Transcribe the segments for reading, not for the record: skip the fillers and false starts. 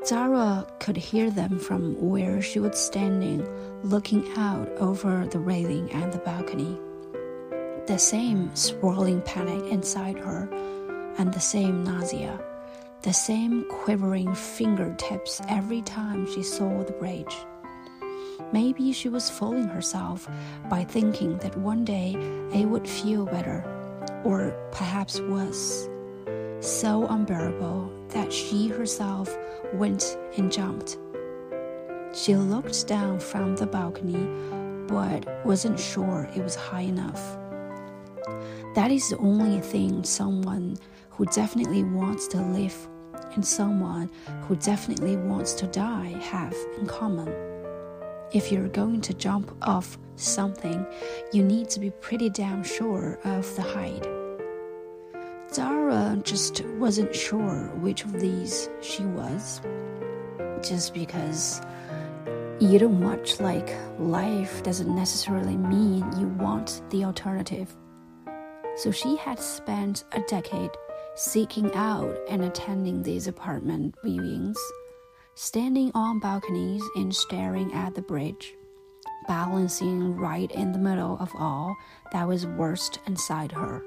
Zara could hear them from where she was standing, looking out over the railing and the balcony. The same swirling panic inside her, and the same nausea, the same quivering fingertips every time she saw the bridge. Maybe she was fooling herself by thinking that one day it would feel better, or perhaps worse, so unbearable that she herself went and jumped. She looked down from the balcony, but wasn't sure it was high enough. That is the only thing someone who definitely wants to live and someone who definitely wants to die have in common. If you're going to jump off something, you need to be pretty damn sure of the height. Zara just wasn't sure which of these she was. Just because you don't much like life doesn't necessarily mean you want the alternative. So she had spent a decade seeking out and attending these apartment viewings, standing on balconies and staring at the bridge, balancing right in the middle of all that was worst inside her.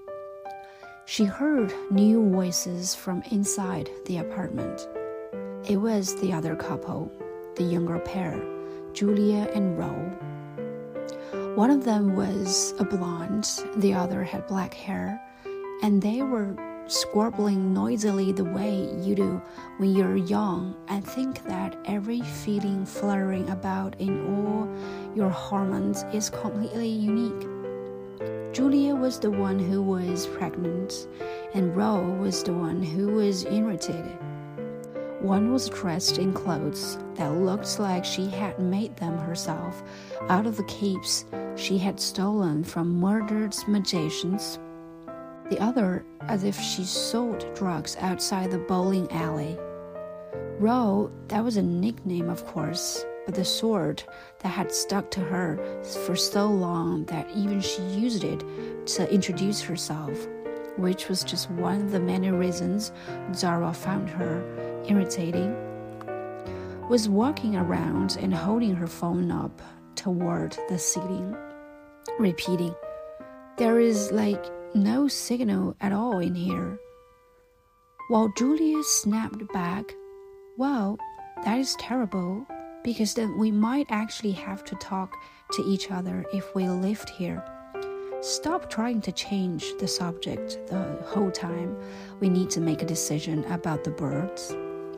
She heard new voices from inside the apartment. It was the other couple, the younger pair, Julia and Ro. One of them was a blonde, the other had black hair, and they were squabbling noisily the way you do when you're young and think that every feeling fluttering about in all your hormones is completely unique. Julia was the one who was pregnant, and Ro was the one who was irritated. One was dressed in clothes that looked like she had made them herself out of the capes she had stolen from murdered magicians. The other as if she sold drugs outside the bowling alley. Ro, that was a nickname of course, but the sort that had stuck to her for so long that even she used it to introduce herself, which was just one of the many reasons Zara found her irritating, was walking around and holding her phone up toward the ceiling, repeating, "There is like no signal at all in here." While Julia snapped back, "Well, that is terrible, because then we might actually have to talk to each other if we lived here. Stop trying to change the subject the whole time. We need to make a decision about the birds."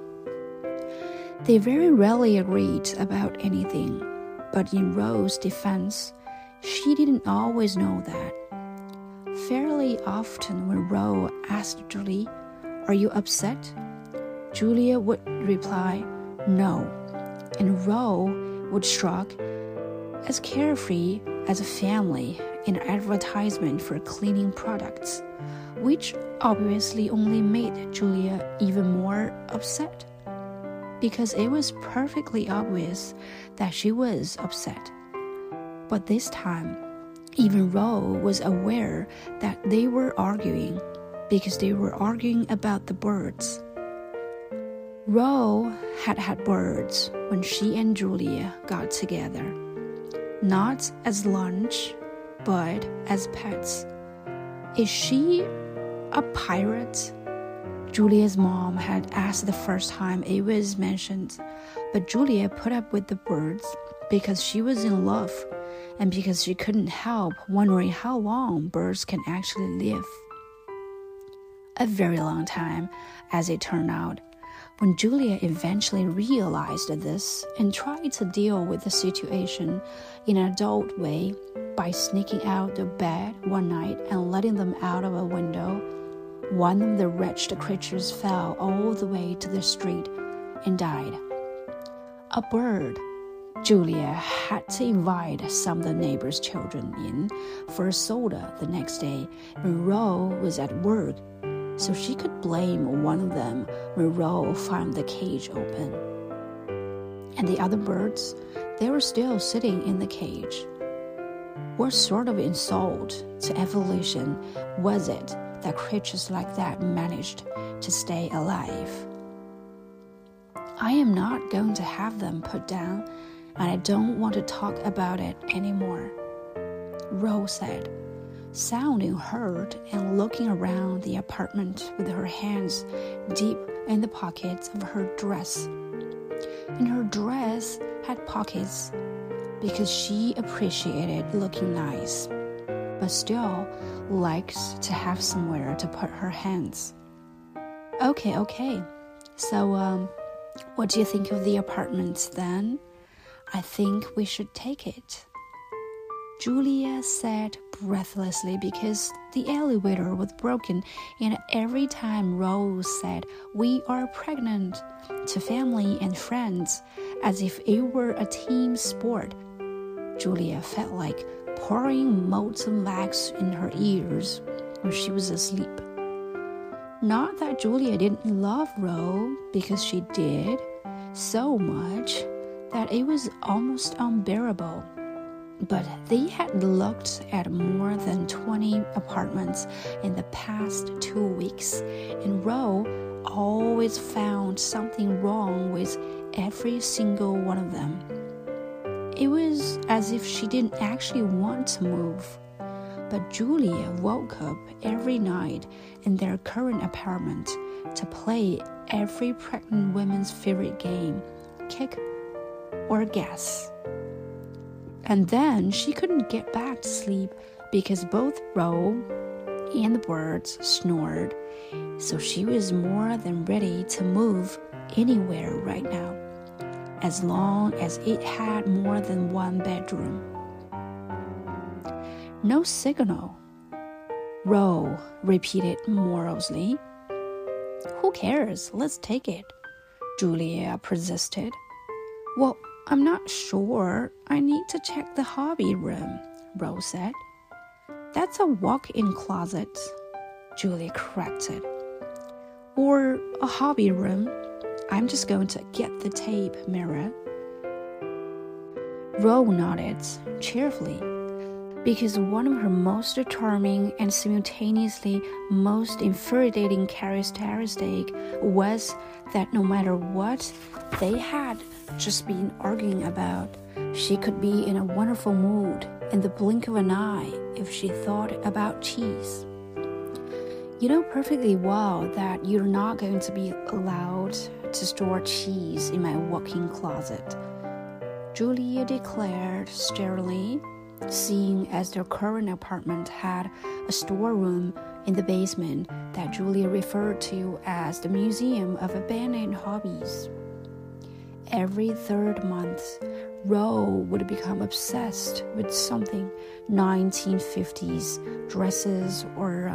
They very rarely agreed about anything, but in Ro's defense, she didn't always know that. Fairly often when Ro asked Julie, "Are you upset?" Julia would reply, "No," and Ro would shrug, as carefree as a family in an advertisement for cleaning products, which obviously only made Julia even more upset, because it was perfectly obvious that she was upset. But this time, even Ro was aware that they were arguing, because they were arguing about the birds. Ro had had birds when she and Julia got together, not as lunch, but as pets. Is she a pirate? Julia's mom had asked the first time it was mentioned, but Julia put up with the birds because she was in love and because she couldn't help wondering how long birds can actually live. A very long time, as it turned out. When Julia eventually realized this and tried to deal with the situation in an adult way by sneaking out of bed one night and letting them out of a window, one of the wretched creatures fell all the way to the street and died. A bird. Julia had to invite some of the neighbors' children in for a soda the next day when Ro was at work, so she could blame one of them when Ro found the cage open. And the other birds, they were still sitting in the cage. What sort of insult to evolution was it that creatures like that managed to stay alive? I am not going to have them put down, and I don't want to talk about it anymore, Rose said, sounding hurt and looking around the apartment with her hands deep in the pockets of her dress. And her dress had pockets because she appreciated looking nice, but still liked to have somewhere to put her hands. Okay. So, what do you think of the apartment then? I think we should take it, Julia said breathlessly because the elevator was broken, and every time Rose said, "We are pregnant," to family and friends, as if it were a team sport, Julia felt like pouring molten wax in her ears when she was asleep. Not that Julia didn't love Rose, because she did, so much that it was almost unbearable. But they had looked at more than 20 apartments in the past 2 weeks, and Rose always found something wrong with every single one of them. It was as if she didn't actually want to move. But Julia woke up every night in their current apartment to play every pregnant woman's favorite game, kick or guess. And then she couldn't get back to sleep because both Rose and the birds snored, so she was more than ready to move anywhere right now, as long as it had more than one bedroom. No signal, Rose repeated morosely. Who cares? Let's take it, Julia persisted. Well, I'm not sure. I need to check the hobby room, Rose said. That's a walk-in closet, Julia corrected. Or a hobby room. I'm just going to get the tape measure. Rose nodded cheerfully, because one of her most charming and simultaneously most infuriating characteristics was that no matter what they had just been arguing about, she could be in a wonderful mood in the blink of an eye if she thought about cheese. You know perfectly well that you're not going to be allowed to store cheese in my walk-in closet, Julia declared sternly, seeing as their current apartment had a storeroom in the basement that Julia referred to as the Museum of Abandoned Hobbies. Every third month, Rose would become obsessed with something 1950s dresses or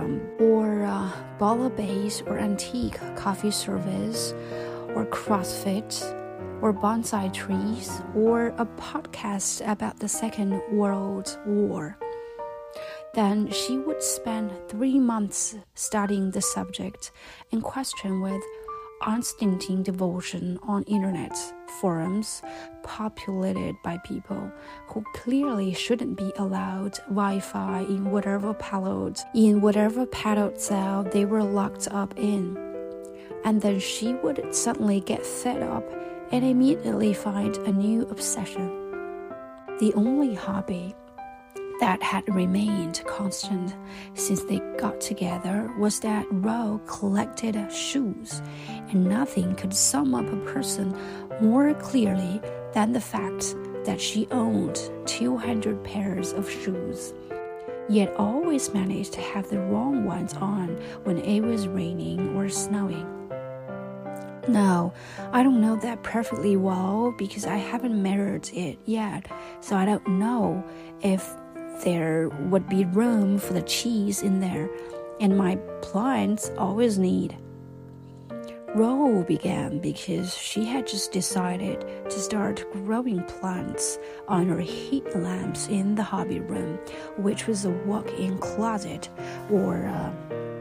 bala-based or antique coffee service or CrossFit or bonsai trees or a podcast about the Second World War. Then she would spend 3 months studying the subject and question with unstinting devotion on internet forums populated by people who clearly shouldn't be allowed Wi-Fi in whatever padded cell they were locked up in. And then she would suddenly get fed up and immediately find a new obsession. The only hobby that had remained constant since they got together was that Rose collected shoes, and nothing could sum up a person more clearly than the fact that she owned 200 pairs of shoes, yet always managed to have the wrong ones on when it was raining or snowing. No, I don't know that perfectly well because I haven't measured it yet, so I don't know if there would be room for the cheese in there, and my plants always need. Rose began because she had just decided to start growing plants on her heat lamps in the hobby room, which was a walk-in closet or